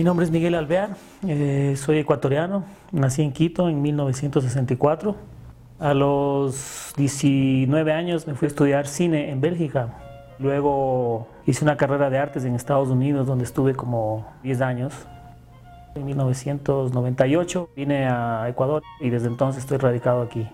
Mi nombre es Miguel Alvear, soy ecuatoriano, nací en Quito en 1964. A los 19 años me fui a estudiar cine en Bélgica. Luego hice una carrera de artes en Estados Unidos donde estuve como 10 años. En 1998 vine a Ecuador y desde entonces estoy radicado aquí.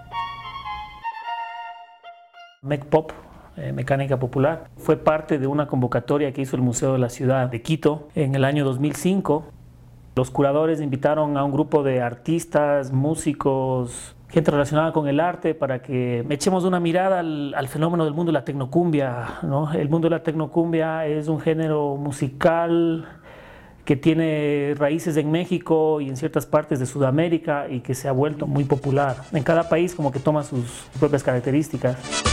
MECPOP, Mecánica Popular, fue parte de una convocatoria que hizo el Museo de la Ciudad de Quito en el año 2005. Los curadores invitaron a un grupo de artistas, músicos, gente relacionada con el arte para que echemos una mirada al fenómeno del mundo de la tecnocumbia, ¿no? El mundo de la tecnocumbia es un género musical que tiene raíces en México y en ciertas partes de Sudamérica y que se ha vuelto muy popular. En cada país como que toma sus propias características.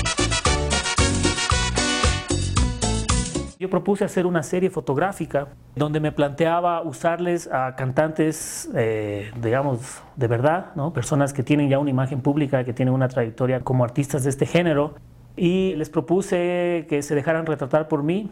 Yo propuse hacer una serie fotográfica donde me planteaba usarles a cantantes, digamos, de verdad, ¿no? Personas que tienen ya una imagen pública, que tienen una trayectoria como artistas de este género, y les propuse que se dejaran retratar por mí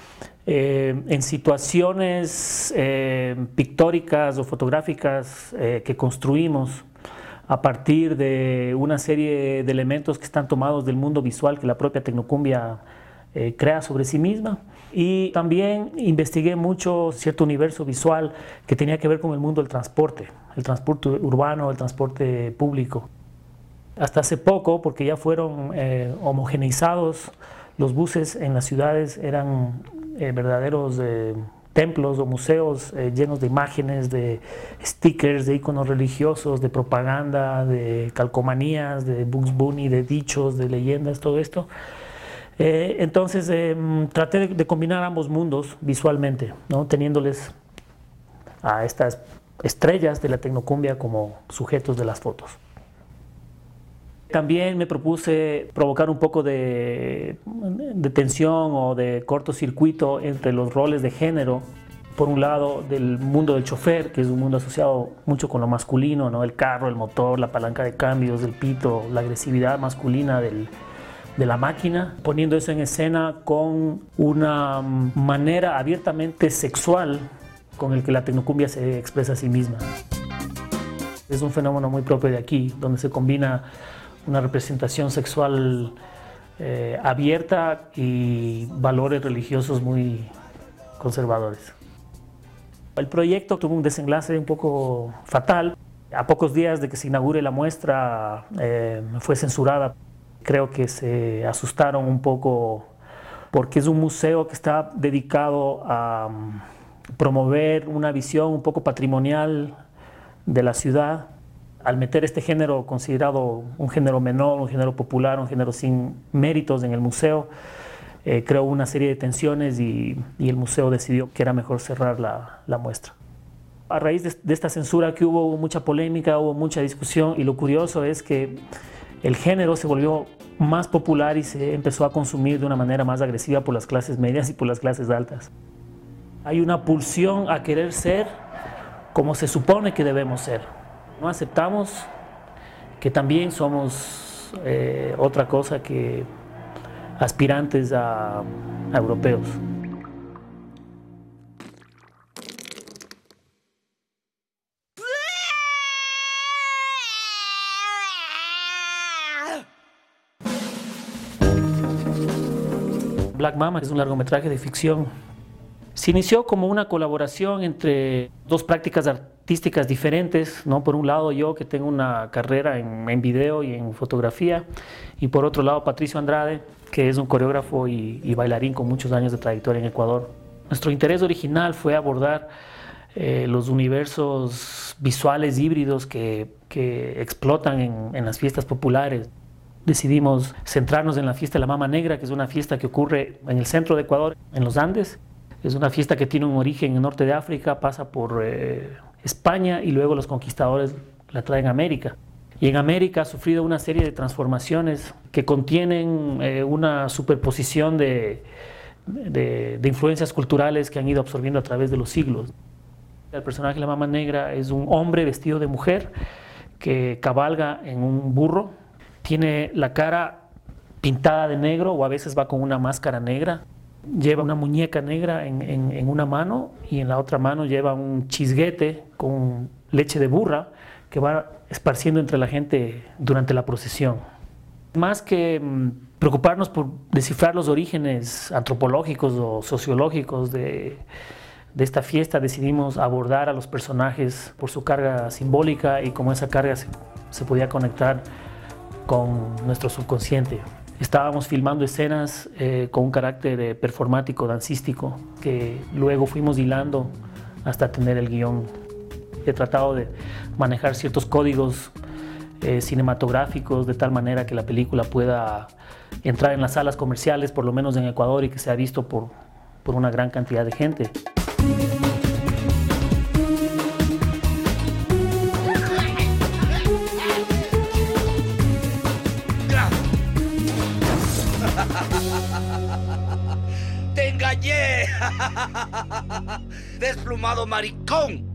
en situaciones pictóricas o fotográficas que construimos a partir de una serie de elementos que están tomados del mundo visual que la propia tecnocumbia crea sobre sí misma. Y también investigué mucho cierto universo visual que tenía que ver con el mundo del transporte, el transporte urbano, el transporte público. Hasta hace poco, porque ya fueron homogeneizados, los buses en las ciudades eran verdaderos templos o museos llenos de imágenes, de stickers, de iconos religiosos, de propaganda, de calcomanías, de Bugs Bunny, de dichos, de leyendas, todo esto. Entonces traté de combinar ambos mundos visualmente, ¿no? Teniéndoles a estas estrellas de la tecnocumbia como sujetos de las fotos. También me propuse provocar un poco de tensión o de cortocircuito entre los roles de género. Por un lado, del mundo del chofer, que es un mundo asociado mucho con lo masculino, ¿no? El carro, el motor, la palanca de cambios, el pito, la agresividad masculina de la máquina, poniendo eso en escena con una manera abiertamente sexual con el que la tecnocumbia se expresa a sí misma. Es un fenómeno muy propio de aquí, donde se combina una representación sexual abierta y valores religiosos muy conservadores. El proyecto tuvo un desenlace un poco fatal. A pocos días de que se inaugure la muestra, fue censurada. Creo que se asustaron un poco porque es un museo que está dedicado a promover una visión un poco patrimonial de la ciudad. Al meter este género considerado un género menor, un género popular, un género sin méritos en el museo, creó una serie de tensiones y el museo decidió que era mejor cerrar la muestra. A raíz de esta censura que hubo mucha polémica, hubo mucha discusión, y lo curioso es que el género se volvió más popular y se empezó a consumir de una manera más agresiva por las clases medias y por las clases altas. Hay una pulsión a querer ser como se supone que debemos ser. No aceptamos que también somos otra cosa que aspirantes a europeos. Black Mama es un largometraje de ficción. Se inició como una colaboración entre dos prácticas artísticas diferentes, ¿no? Por un lado yo, que tengo una carrera en video y en fotografía, y por otro lado Patricio Andrade, que es un coreógrafo y bailarín con muchos años de trayectoria en Ecuador. Nuestro interés original fue abordar los universos visuales híbridos que explotan en las fiestas populares. Decidimos centrarnos en la fiesta de la Mama Negra, que es una fiesta que ocurre en el centro de Ecuador, en los Andes. Es una fiesta que tiene un origen en el norte de África, pasa por España y luego los conquistadores la traen a América. Y en América ha sufrido una serie de transformaciones que contienen una superposición de influencias culturales que han ido absorbiendo a través de los siglos. El personaje de la Mama Negra es un hombre vestido de mujer que cabalga en un burro. Tiene la cara pintada de negro o a veces va con una máscara negra. lleva una muñeca negra en una mano y en la otra mano lleva un chisguete con leche de burra que va esparciendo entre la gente durante la procesión. Más que preocuparnos por descifrar los orígenes antropológicos o sociológicos de esta fiesta, decidimos abordar a los personajes por su carga simbólica y cómo esa carga se podía conectar con nuestro subconsciente. Estábamos filmando escenas con un carácter performático, dancístico, que luego fuimos hilando hasta tener el guión. He tratado de manejar ciertos códigos cinematográficos de tal manera que la película pueda entrar en las salas comerciales, por lo menos en Ecuador, y que sea visto por una gran cantidad de gente. ¡Te engañé! ¡Desplumado maricón!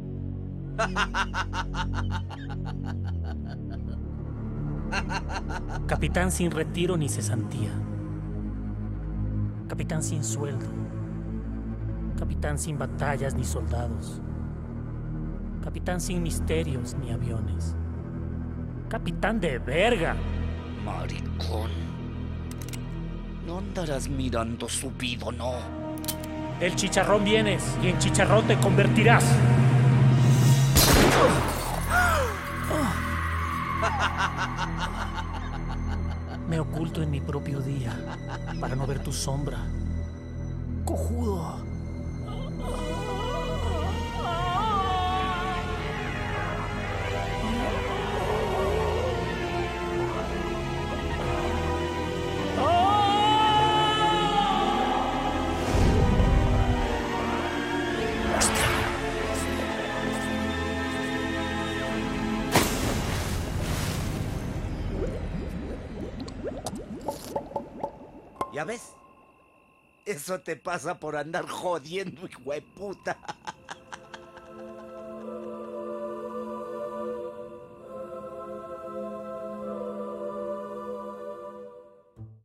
Capitán sin retiro ni cesantía. Capitán sin sueldo. Capitán sin batallas ni soldados. Capitán sin misterios ni aviones. Capitán de verga. Maricón. No andarás mirando subido, no. Del chicharrón vienes y en chicharrón te convertirás. Me oculto en mi propio día para no ver tu sombra. Cojudo. ¿Ya ves? Eso te pasa por andar jodiendo, hijo de puta.